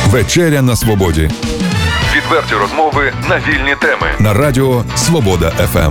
Вечеря на свободі. Відверті розмови на вільні теми. На радіо Свобода ФМ.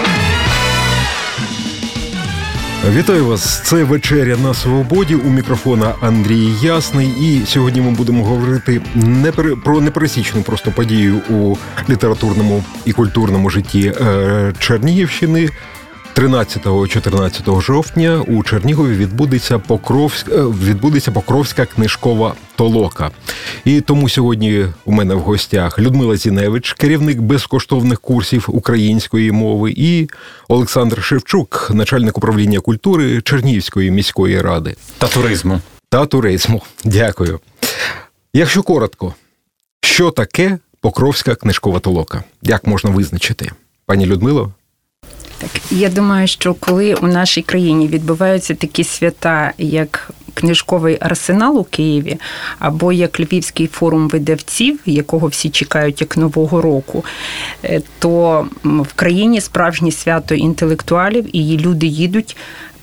Вітаю вас. Це «Вечеря на свободі». У мікрофона Андрій Ясний. І сьогодні ми будемо говорити про непересічну просто подію у літературному і культурному житті Чернігівщини. 13-14 жовтня у Чернігові відбудеться Покровська книжкова толока. І тому сьогодні у мене в гостях Людмила Зіневич, керівник безкоштовних курсів української мови, і Олександр Шевчук, начальник управління культури Чернігівської міської ради. Та туризму. Дякую. Якщо коротко, що таке Покровська книжкова толока? Як можна визначити? Пані Людмило? Так, я думаю, що коли у нашій країні відбуваються такі свята, як книжковий арсенал у Києві, або як Львівський форум видавців, якого всі чекають як Нового року, то в країні справжнє свято інтелектуалів, і люди їдуть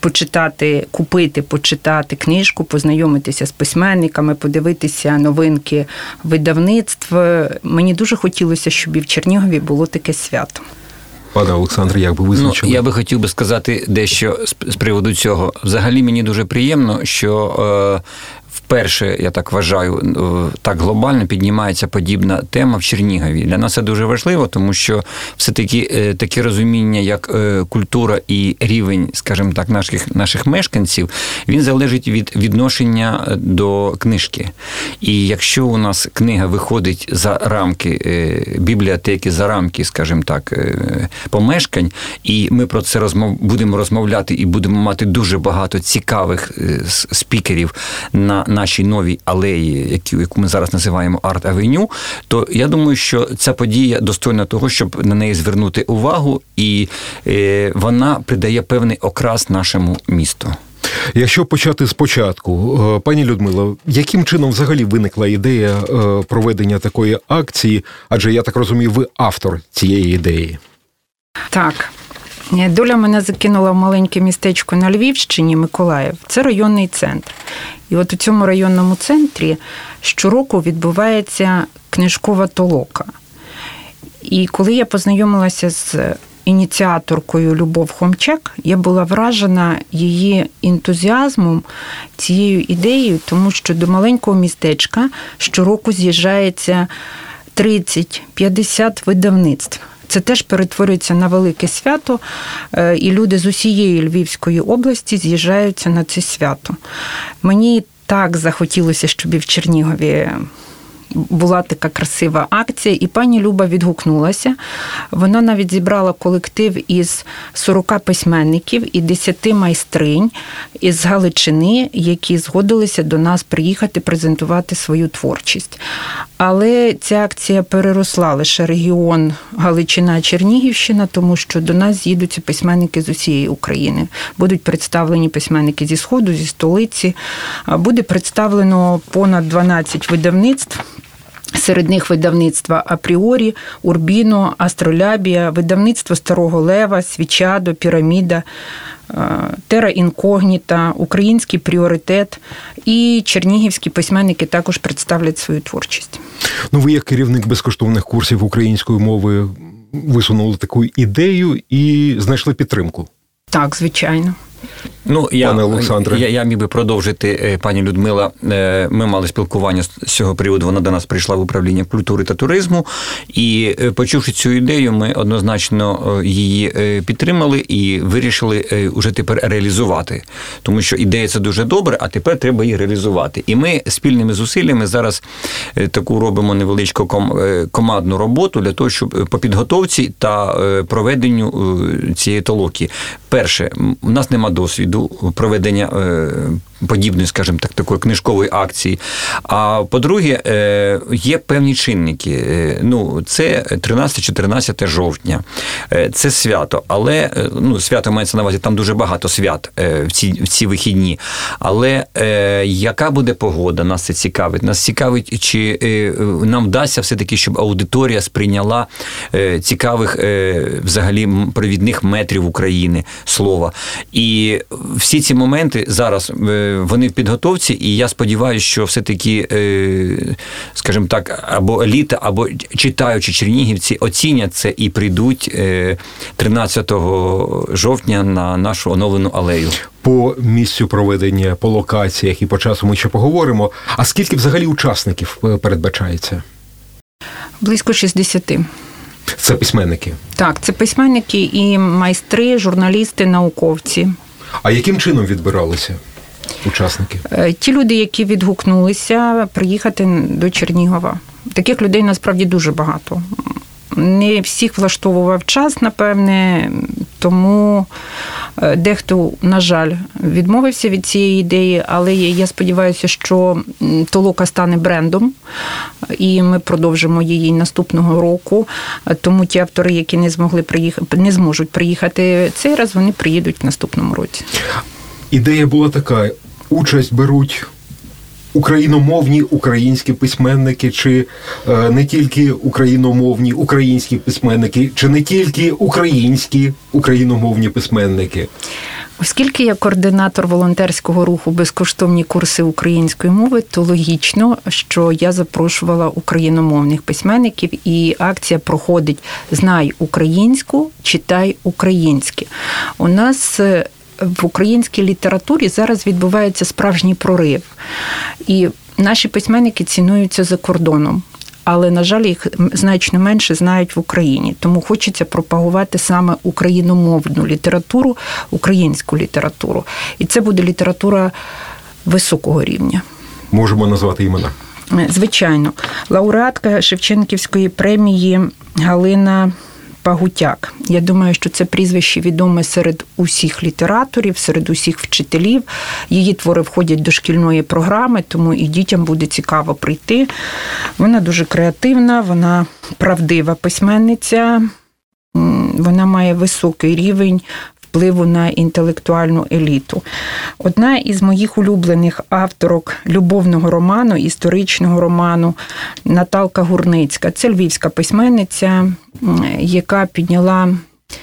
почитати книжку, познайомитися з письменниками, подивитися новинки видавництв. Мені дуже хотілося, щоб і в Чернігові було таке свято. Пане Олександре, як би визначили? Я би хотів би сказати дещо з приводу цього. Взагалі мені дуже приємно, що вперше, я так вважаю, так глобально піднімається подібна тема в Чернігові. Для нас це дуже важливо, тому що все-таки таке розуміння, як культура і рівень, скажімо так, наших мешканців, він залежить від відношення до книжки. І якщо у нас книга виходить за рамки бібліотеки, за рамки, скажімо так, помешкань, і ми про це будемо розмовляти і будемо мати дуже багато цікавих спікерів на нашій новій алеї, яку ми зараз називаємо Арт-авеню, то я думаю, що ця подія достойна того, щоб на неї звернути увагу, і вона придає певний окрас нашому місту. Якщо почати спочатку, пані Людмило, яким чином взагалі виникла ідея проведення такої акції? Адже, я так розумію, ви автор цієї ідеї. Так. Доля мене закинула в маленьке містечко на Львівщині, Миколаїв. Це районний центр. І от у цьому районному центрі щороку відбувається книжкова толока. І коли я познайомилася з ініціаторкою Любов Хомчак, я була вражена її ентузіазмом, цією ідеєю, тому що до маленького містечка щороку з'їжджається 30-50 видавництв. Це теж перетворюється на велике свято, і люди з усієї Львівської області з'їжджаються на це свято. Мені так захотілося, щоб і в Чернігові була така красива акція, і пані Люба відгукнулася. Вона навіть зібрала колектив із 40 письменників і 10 майстринь із Галичини, які згодилися до нас приїхати презентувати свою творчість. Але ця акція переросла лише регіон Галичина-Чернігівщина, тому що до нас з'їдуться письменники з усієї України. Будуть представлені письменники зі Сходу, зі столиці. Буде представлено понад 12 видавництв. Серед них видавництва «Апріорі», «Урбіно», «Астролябія», видавництво «Старого Лева», «Свічадо», «Піраміда», «Тера інкогніта», «Український пріоритет», і чернігівські письменники також представлять свою творчість. Ви як керівник безкоштовних курсів української мови висунули таку ідею і знайшли підтримку? Так, звичайно. Я міг би продовжити, пані Людмила. Ми мали спілкування з цього приводу, вона до нас прийшла в управління культури та туризму, і почувши цю ідею, ми однозначно її підтримали і вирішили уже тепер реалізувати. Тому що ідея – це дуже добре, а тепер треба її реалізувати. І ми спільними зусиллями зараз таку робимо невеличку командну роботу для того, щоб по підготовці та проведенню цієї толоки. Перше, у нас нема досвіду проведення подібної, скажімо так, такої книжкової акції. А по-друге, є певні чинники. Це 13-14 жовтня. Це свято. Але, свято мається на увазі, там дуже багато свят в ці вихідні. Але яка буде погода, нас це цікавить. Нас цікавить, чи нам вдасться все-таки, щоб аудиторія сприйняла цікавих взагалі провідних метрів України, слова. І всі ці моменти зараз вони в підготовці, і я сподіваюся, що все-таки, скажімо так, або еліта, або читаючі чернігівці оцінять це і прийдуть 13 жовтня на нашу оновлену алею. По місцю проведення, по локаціях і по часу ми ще поговоримо. А скільки взагалі учасників передбачається? Близько 60. Це письменники? Так, це письменники і майстри, журналісти, науковці. А яким чином відбиралися учасники? Ті люди, які відгукнулися приїхати до Чернігова. Таких людей насправді дуже багато. Не всіх влаштовував час, напевне, тому дехто, на жаль, відмовився від цієї ідеї, але я сподіваюся, що толока стане брендом, і ми продовжимо її наступного року. Тому ті автори, які не зможуть приїхати цей раз, вони приїдуть в наступному році. Ідея була така: участь беруть україномовні українські письменники, чи не тільки україномовні українські письменники, чи не тільки українські україномовні письменники? Оскільки я координатор волонтерського руху «Безкоштовні курси української мови», то логічно, що я запрошувала україномовних письменників, і акція проходить «Знай українську, читай українське». У нас в українській літературі зараз відбувається справжній прорив. І наші письменники цінуються за кордоном. Але, на жаль, їх значно менше знають в Україні. Тому хочеться пропагувати саме україномовну літературу, українську літературу. І це буде література високого рівня. Можемо назвати імена? Звичайно. Лауреатка Шевченківської премії Галина Пагутяк. Я думаю, що це прізвище відоме серед усіх літераторів, серед усіх вчителів. Її твори входять до шкільної програми, тому і дітям буде цікаво прийти. Вона дуже креативна, вона правдива письменниця, вона має високий рівень впливу на інтелектуальну еліту. Одна із моїх улюблених авторок любовного роману, історичного роману Наталка Гурницька. Це львівська письменниця, яка підняла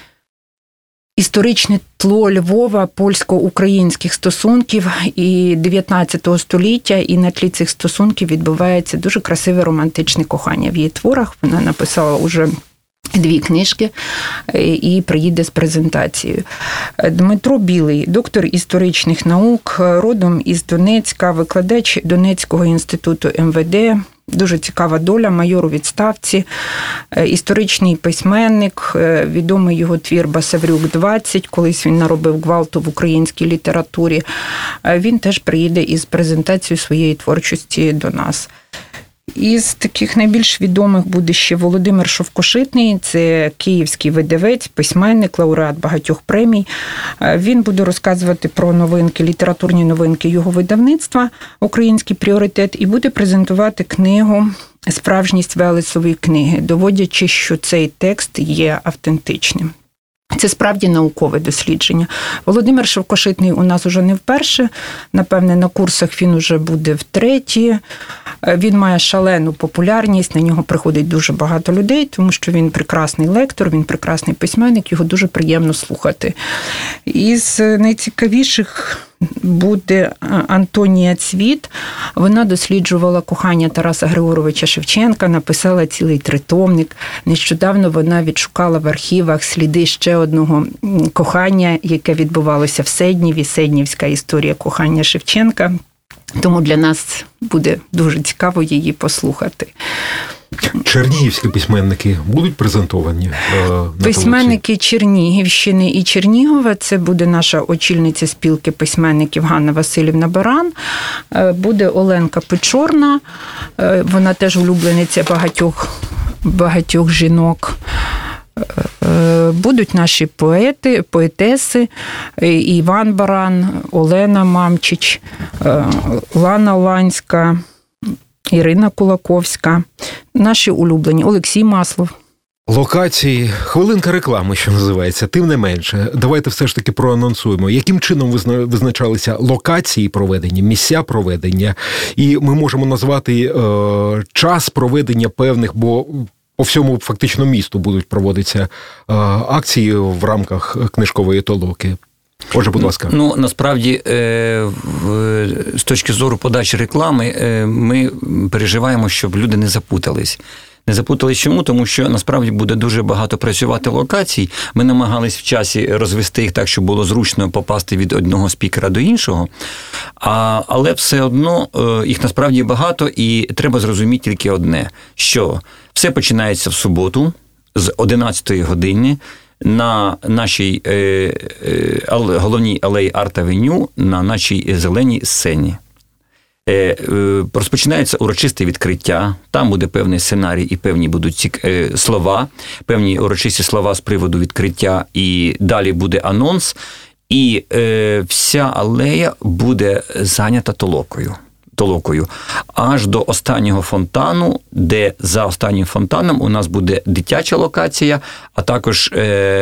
історичне тло Львова, польсько-українських стосунків і 19 століття, і на тлі цих стосунків відбувається дуже красиве романтичне кохання в її творах. Вона написала уже 2 книжки і приїде з презентацією. Дмитро Білий, доктор історичних наук, родом із Донецька, викладач Донецького інституту МВД. Дуже цікава доля, майор у відставці, історичний письменник, відомий його твір «Басаврюк-20», колись він наробив гвалту в українській літературі. Він теж приїде із презентацією своєї творчості до нас. Із таких найбільш відомих буде ще Володимир Шовкошитний, це київський видавець, письменник, лауреат багатьох премій. Він буде розказувати про новинки, літературні новинки його видавництва «Український пріоритет» і буде презентувати книгу «Справжність Велесової книги», доводячи, що цей текст є автентичним. Це справді наукове дослідження. Володимир Шовкошитний у нас уже не вперше. Напевне, на курсах він уже буде втретє. Він має шалену популярність, на нього приходить дуже багато людей, тому що він прекрасний лектор, він прекрасний письменник, його дуже приємно слухати. Із найцікавіших буде Антонія Цвіт. Вона досліджувала кохання Тараса Григоровича Шевченка, написала цілий тритомник. Нещодавно вона відшукала в архівах сліди ще одного кохання, яке відбувалося в Седніві, Седнівська історія кохання Шевченка. Тому для нас буде дуже цікаво її послухати. Чернігівські письменники будуть презентовані? Письменники Чернігівщини і Чернігова. Це буде наша очільниця спілки письменників Ганна Василівна Баран. Буде Оленка Печорна. Вона теж улюблениця багатьох жінок. Будуть наші поети, поетеси, Іван Баран, Олена Мамчич, Лана Ланська, Ірина Кулаковська, наші улюблені, Олексій Маслов. Локації, хвилинка реклами, що називається, тим не менше. Давайте все ж таки проанонсуємо, яким чином визначалися локації проведення, місця проведення, і ми можемо назвати час проведення певних, бо по всьому фактично місту будуть проводитися акції в рамках книжкової толоки. Отже, будь ласка. Ну, насправді, з точки зору подачі реклами, ми переживаємо, щоб люди не запутались. Не запутались чому? Тому що, насправді, буде дуже багато працювати локацій. Ми намагались в часі розвести їх так, щоб було зручно попасти від одного спікера до іншого. Але все одно їх насправді багато, і треба зрозуміти тільки одне, що все починається в суботу з 11-ї години на нашій головній алеї Арт-Авеню, на нашій зеленій сцені. Розпочинається урочисте відкриття, там буде певний сценарій і певні будуть слова, певні урочисті слова з приводу відкриття, і далі буде анонс, і вся алея буде зайнята толокою, аж до останнього фонтану, де за останнім фонтаном у нас буде дитяча локація, а також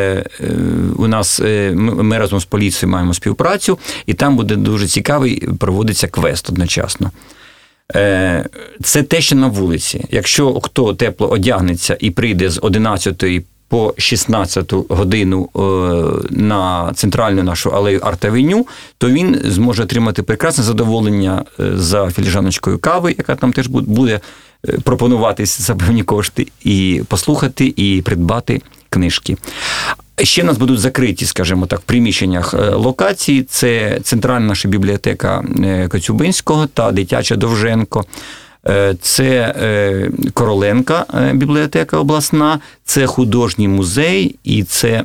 ми разом з поліцією маємо співпрацю, і там буде дуже цікавий, проводиться квест одночасно. Це те, що на вулиці. Якщо хто тепло одягнеться і прийде з 11-ї по 16-ту годину на центральну нашу алею Арт-Авеню, то він зможе отримати прекрасне задоволення за філіжаночкою кави, яка там теж буде пропонуватись за певні кошти, і послухати, і придбати книжки. Ще в нас будуть закриті, скажімо так, в приміщеннях локації. Це центральна наша бібліотека Коцюбинського та дитяча Довженко. Це Короленка бібліотека обласна, це художній музей і це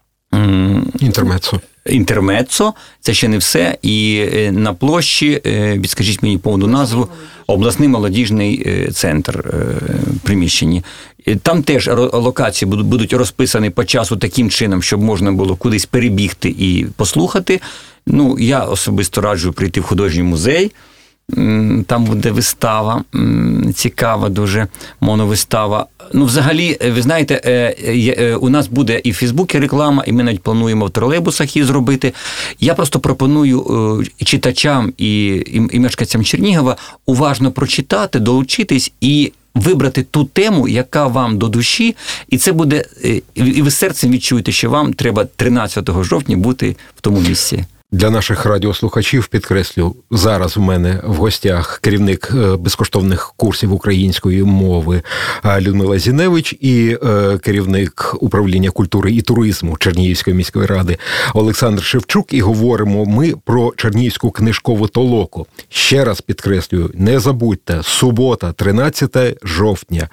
Інтермеццо. Це ще не все. І на площі, відскажіть мені повну назву, обласний молодіжний центр в приміщенні. Там теж локації будуть розписані по часу таким чином, щоб можна було кудись перебігти і послухати. Ну, я особисто раджу прийти в художній музей. Там буде вистава, цікава дуже моновистава. Ну, взагалі, ви знаєте, у нас буде і в Фейсбуці реклама, і ми навіть плануємо в тролейбусах її зробити. Я просто пропоную читачам і мешканцям Чернігова уважно прочитати, долучитись і вибрати ту тему, яка вам до душі, і це буде, і ви серцем відчуєте, що вам треба 13 жовтня бути в тому місці. Для наших радіослухачів підкреслю, зараз у мене в гостях керівник безкоштовних курсів української мови Людмила Зіневич і керівник управління культури і туризму Чернігівської міської ради Олександр Шевчук. І говоримо ми про Чернігівську книжкову толоку. Ще раз підкреслюю, не забудьте, субота, 13 жовтня,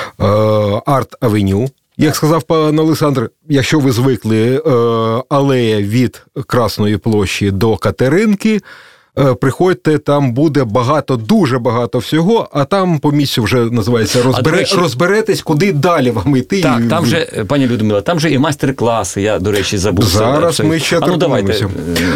Арт-Авеню. Як сказав пан Олександр, якщо ви звикли, алея від Красної площі до Катеринки, приходьте, там буде багато, дуже багато всього, а там по місцю вже, називається, розберетесь, куди далі вам йти. Так, там же, пані Людмила, там же і майстер-класи, я, до речі, забув. Зараз ми ще торкнемося.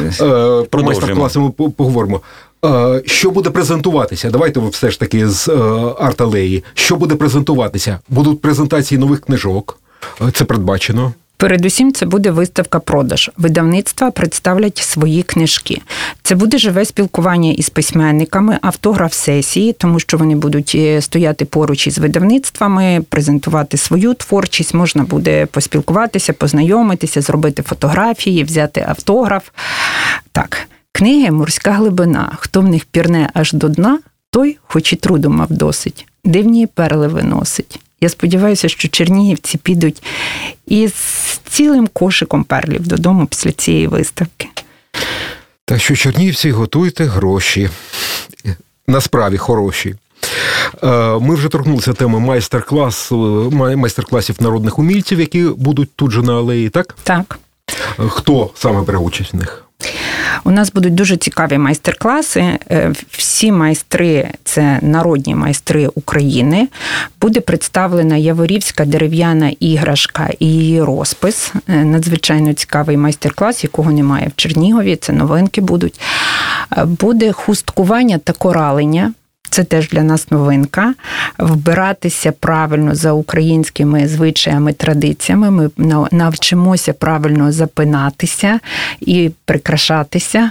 Про майстер-класи ми поговоримо. Що буде презентуватися? Давайте все ж таки з арт-алеї. Що буде презентуватися? Будуть презентації нових книжок. Це передбачено. Передусім, це буде виставка-продаж. Видавництва представлять свої книжки. Це буде живе спілкування із письменниками, автограф-сесії, тому що вони будуть стояти поруч із видавництвами, презентувати свою творчість, можна буде поспілкуватися, познайомитися, зробити фотографії, взяти автограф. Так, книги «Морська глибина». Хто в них пірне аж до дна, той, хоч і труду мав досить, дивні перли виносить. Я сподіваюся, що чернігівці підуть із цілим кошиком перлів додому після цієї виставки. Так що, чернігівці, готуйте гроші. Насправді хороші. Ми вже торкнулися теми майстер-класів народних умільців, які будуть тут же на алеї, так? Так. Хто саме бере участь в них? У нас будуть дуже цікаві майстер-класи. Всі майстри – це народні майстри України. Буде представлена яворівська дерев'яна іграшка і її розпис. Надзвичайно цікавий майстер-клас, якого немає в Чернігові. Це новинки будуть. Буде хусткування та коралення. Це теж для нас новинка. Вбиратися правильно за українськими звичаями, традиціями. Ми навчимося правильно запинатися і прикрашатися.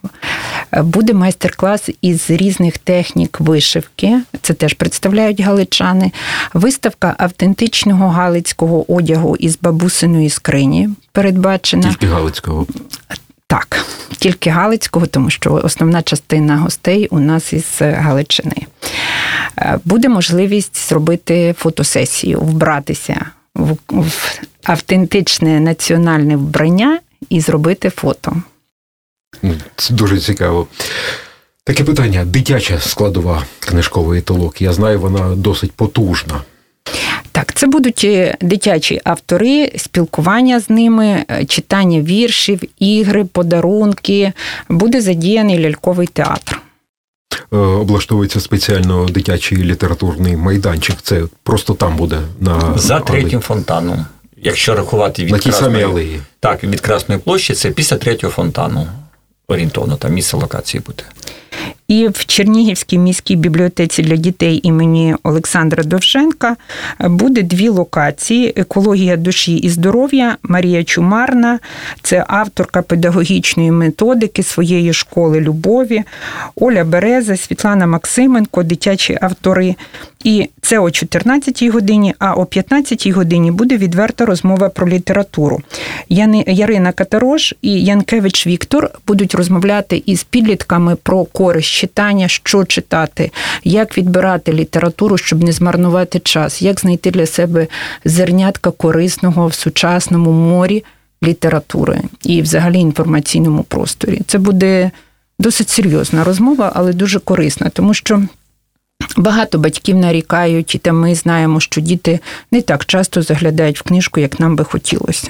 Буде майстер-клас із різних технік вишивки. Це теж представляють галичани. Виставка автентичного галицького одягу із бабусиної скрині передбачена. Тільки галицького. Так, тільки Галицького, тому що основна частина гостей у нас із Галичини. Буде можливість зробити фотосесію, вбратися в автентичне національне вбрання і зробити фото. Це дуже цікаво. Таке питання. Дитяча складова книжкової толоки. Я знаю, вона досить потужна. Так, це будуть дитячі автори, спілкування з ними, читання віршів, ігри, подарунки. Буде задіяний ляльковий театр. Облаштовується спеціально дитячий літературний майданчик. Це просто там буде за третім фонтаном. Якщо рахувати від на тій самій алеї. Так, від Красної площі, це після третього фонтану. Орієнтовно, там місце локації буде. І в Чернігівській міській бібліотеці для дітей імені Олександра Довженка буде 2 локації. Екологія душі і здоров'я. Марія Чумарна – це авторка педагогічної методики своєї школи любові. Оля Береза, Світлана Максименко – дитячі автори. І це о 14-й годині, а о 15-й годині буде відверта розмова про літературу. Ярина Катарош і Янкевич Віктор будуть розмовляти із підлітками про користь читання, що читати, як відбирати літературу, щоб не змарнувати час, як знайти для себе зернятка корисного в сучасному морі літератури і взагалі інформаційному просторі. Це буде досить серйозна розмова, але дуже корисна, тому що багато батьків нарікають, і ми знаємо, що діти не так часто заглядають в книжку, як нам би хотілося.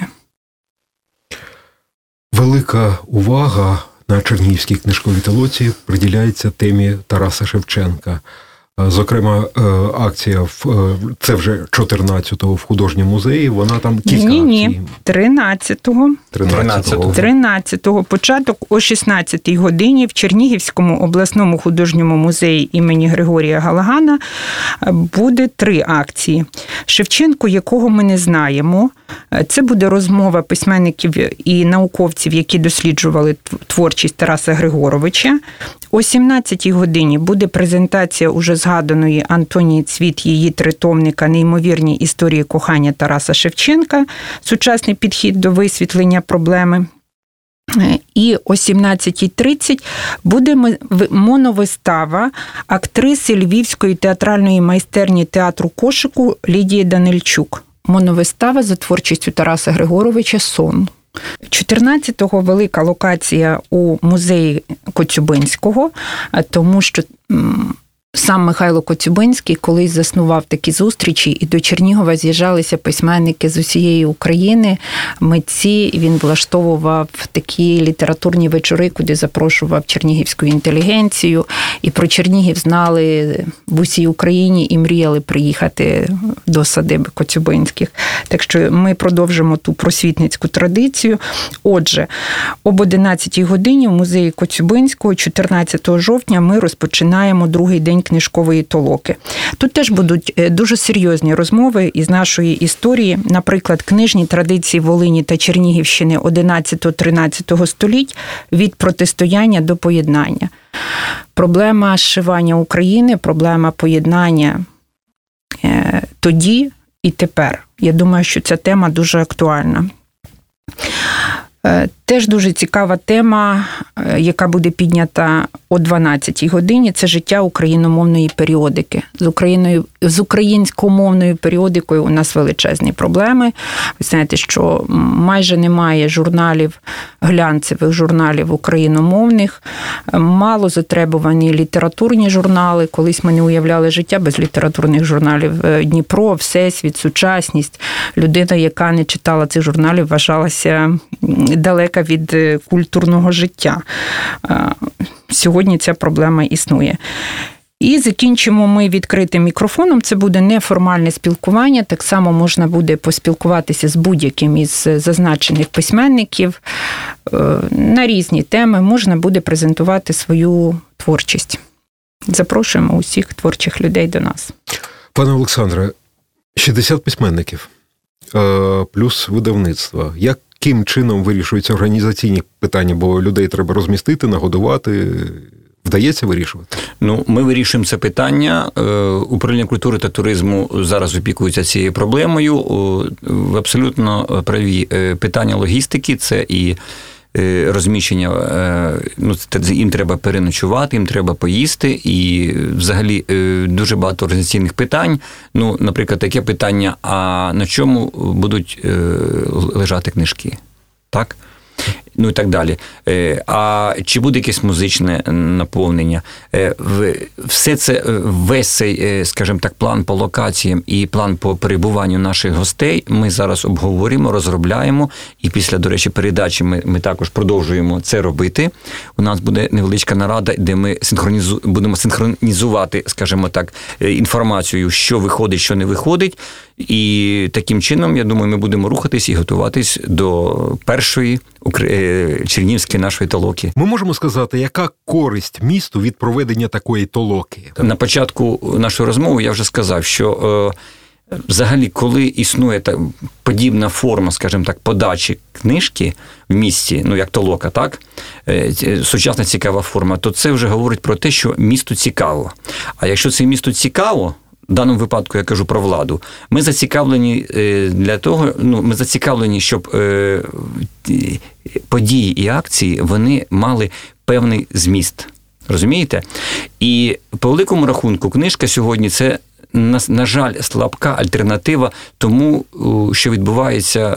Велика увага на Чернігівській книжковій толоці приділяється темі Тараса Шевченка. Зокрема, акція, це вже 14-го в художньому музеї, вона там кілька акцій. Ні, 13-го. 13-го. Початок о 16-й годині в Чернігівському обласному художньому музеї імені Григорія Галагана буде 3 акції. Шевченко, якого ми не знаємо. Це буде розмова письменників і науковців, які досліджували творчість Тараса Григоровича. О 17-й годині буде презентація уже згаданої Антонії Цвіт, її тритомника «Неймовірні історії кохання Тараса Шевченка. Сучасний підхід до висвітлення проблеми». І о 17:30 буде моновистава актриси Львівської театральної майстерні театру Кошику Лідії Данильчук. Моновистава за творчістю Тараса Григоровича «Сон». 14-го велика локація у музеї Коцюбинського, тому що сам Михайло Коцюбинський колись заснував такі зустрічі, і до Чернігова з'їжджалися письменники з усієї України, митці. Він влаштовував такі літературні вечори, куди запрошував чернігівську інтелігенцію. І про Чернігів знали в усій Україні і мріяли приїхати до садиби Коцюбинських. Так що ми продовжимо ту просвітницьку традицію. Отже, об 11-й годині в музеї Коцюбинського 14 жовтня ми розпочинаємо другий день книжкової толоки. Тут теж будуть дуже серйозні розмови із нашої історії, наприклад, книжні традиції Волині та Чернігівщини 11-13 століть від протистояння до поєднання. Проблема зшивання України, проблема поєднання тоді і тепер. Я думаю, що ця тема дуже актуальна. Теж дуже цікава тема, яка буде піднята о 12-й годині, це життя україномовної періодики. З українськомовною періодикою у нас величезні проблеми. Ви знаєте, що майже немає журналів, глянцевих журналів україномовних, мало затребувані літературні журнали. Колись ми не уявляли життя без літературних журналів. Дніпро, Всесвіт, Сучасність. Людина, яка не читала цих журналів, вважалася далека від культурного життя. Сьогодні ця проблема існує. І закінчимо ми відкритим мікрофоном. Це буде неформальне спілкування. Так само можна буде поспілкуватися з будь-яким із зазначених письменників на різні теми. Можна буде презентувати свою творчість. Запрошуємо усіх творчих людей до нас. Пане Олександре, 60 письменників плюс видавництво. Яким чином вирішуються організаційні питання? Бо людей треба розмістити, нагодувати. Вдається вирішувати? Ми вирішуємо це питання. Управління культури та туризму зараз опікується цією проблемою. В абсолютно праві питання логістики – це і розміщення, їм треба переночувати, їм треба поїсти, і взагалі дуже багато організаційних питань. Наприклад, таке питання, а на чому будуть лежати книжки? Так? І так далі. А чи буде якесь музичне наповнення? Все це, весь цей, скажімо так, план по локаціям і план по перебуванню наших гостей ми зараз обговорюємо, розробляємо, і після, до речі, передачі ми також продовжуємо це робити. У нас буде невеличка нарада, де ми будемо синхронізувати, скажімо так, інформацію, що виходить, що не виходить, і таким чином, я думаю, ми будемо рухатись і готуватись до першої чернігівської нашої толоки. Ми можемо сказати, яка користь місту від проведення такої толоки? На початку нашої розмови я вже сказав, що взагалі, коли існує подібна форма, скажімо так, подачі книжки в місті, як толока, так? Сучасна цікава форма, то це вже говорить про те, що місту цікаво. А якщо це місту цікаво, в даному випадку я кажу про владу, ми зацікавлені ми зацікавлені, щоб події і акції, вони мали певний зміст. Розумієте? І по великому рахунку книжка сьогодні – це, на жаль, слабка альтернатива тому, що відбувається,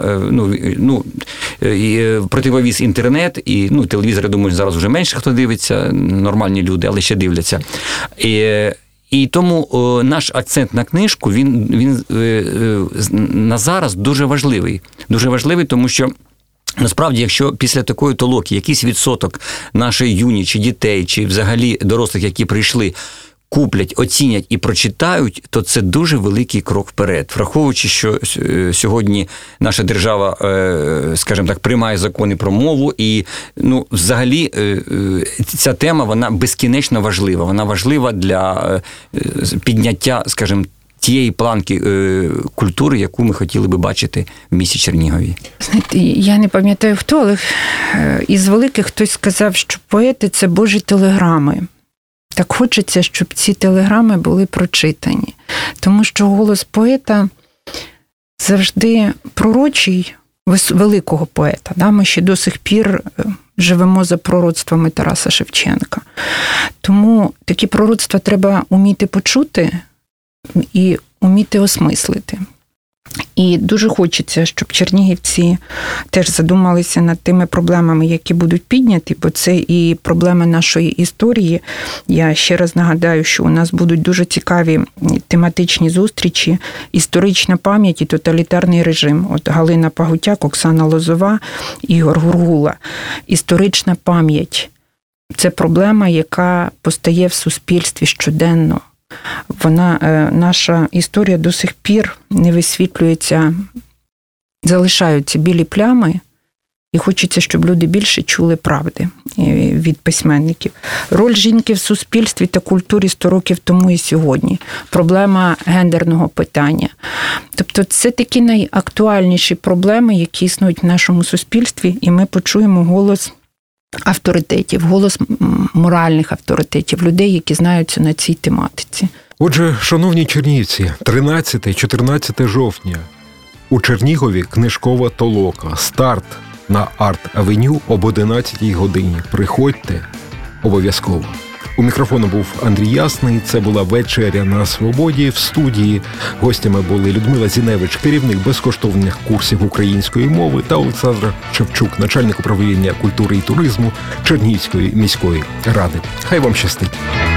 противовіз інтернет, і телевізор, я думаю, зараз вже менше хто дивиться, нормальні люди, але ще дивляться. І тому наш акцент на книжку, він на зараз дуже важливий. Дуже важливий, тому що насправді, якщо після такої толоки якийсь відсоток нашої юні, чи дітей, чи взагалі дорослих, які прийшли, куплять, оцінять і прочитають, то це дуже великий крок вперед. Враховуючи, що сьогодні наша держава, скажімо так, приймає закони про мову, і взагалі ця тема, вона безкінечно важлива. Вона важлива для підняття, скажімо, тієї планки культури, яку ми хотіли би бачити в місті Чернігові. Знаєте, я не пам'ятаю хто, але із великих хтось сказав, що поети – це Божі телеграми. Так хочеться, щоб ці телеграми були прочитані. Тому що голос поета завжди пророчий, великого поета. Да? Ми ще до сих пір живемо за пророцтвами Тараса Шевченка. Тому такі пророцтва треба уміти почути і уміти осмислити. І дуже хочеться, щоб чернігівці теж задумалися над тими проблемами, які будуть підняті, бо це і проблеми нашої історії. Я ще раз нагадаю, що у нас будуть дуже цікаві тематичні зустрічі, історична пам'ять і тоталітарний режим. От Галина Пагутяк, Оксана Лозова, Ігор Гургула. Історична пам'ять – це проблема, яка постає в суспільстві щоденно. Наша історія до сих пір не висвітлюється, залишаються білі плями, і хочеться, щоб люди більше чули правди від письменників. Роль жінки в суспільстві та культурі 100 років тому і сьогодні. Проблема гендерного питання. Тобто це такі найактуальніші проблеми, які існують в нашому суспільстві, і ми почуємо голос авторитетів, голос моральних авторитетів, людей, які знаються на цій тематиці. Отже, шановні чернігівці, 13-14 жовтня у Чернігові книжкова толока. Старт на Арт-авеню об 11-й годині. Приходьте обов'язково. У мікрофону був Андрій Ясний. Це була вечеря на Свободі. В студії гостями були Людмила Зіневич, керівник безкоштовних курсів української мови, та Олександр Шевчук, начальник управління культури і туризму Чернігівської міської ради. Хай вам щастить.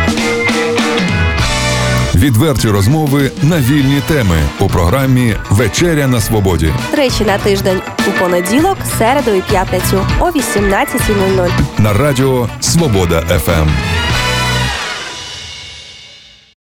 Відверті розмови на вільні теми у програмі «Вечеря на Свободі». Тричі на тиждень у понеділок, середу і п'ятницю о 18:00. На радіо «Свобода ФМ».